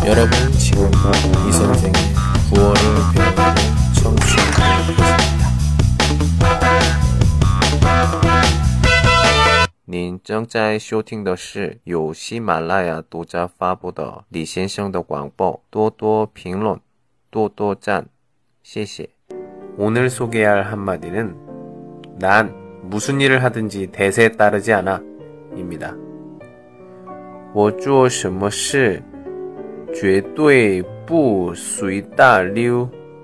여러분 지금 이 선생의 구월을 배우는 청취하고 계십니다. 您正在收听的是由喜马拉雅独家发布的李先生的广播，多多评论，多多赞，谢谢。 오늘 소개할 한마디는 난 무슨 일을 하든지 대세에 따르지 않아 입니다. 我做什么事绝对不随大流。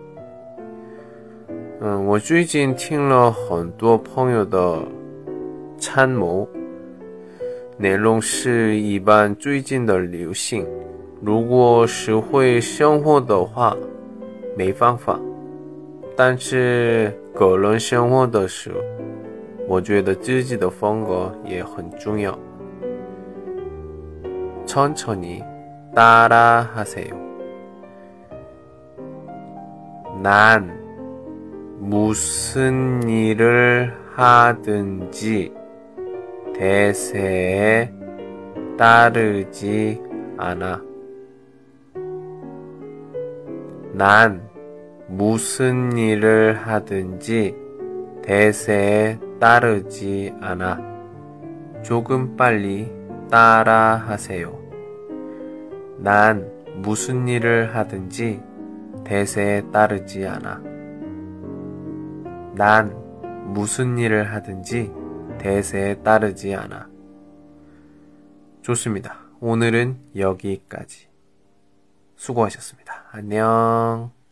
我最近听了很多朋友的参谋，内容是一般最近的流行，如果是会生活的话没办法，但是个人生活的时候，我觉得自己的风格也很重要。 천천히 따라 하세요. 난 무슨 일을 하든지 대세에 따르지 않아. 난 무슨 일을 하든지 대세에 따르지 않아. 조금 빨리 따라 하세요. 난 무슨 일을 하든지 대세에 따르지 않아. 난 무슨 일을 하든지 대세에 따르지 않아. 좋습니다. 오늘은 여기까지. 수고하셨습니다. 안녕.